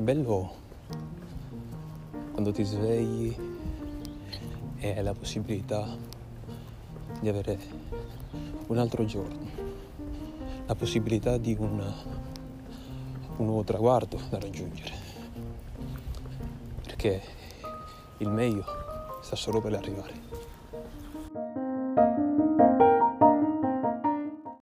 bello quando ti svegli e hai la possibilità di avere un altro giorno, la possibilità di un nuovo traguardo da raggiungere, perché il meglio sta solo per arrivare.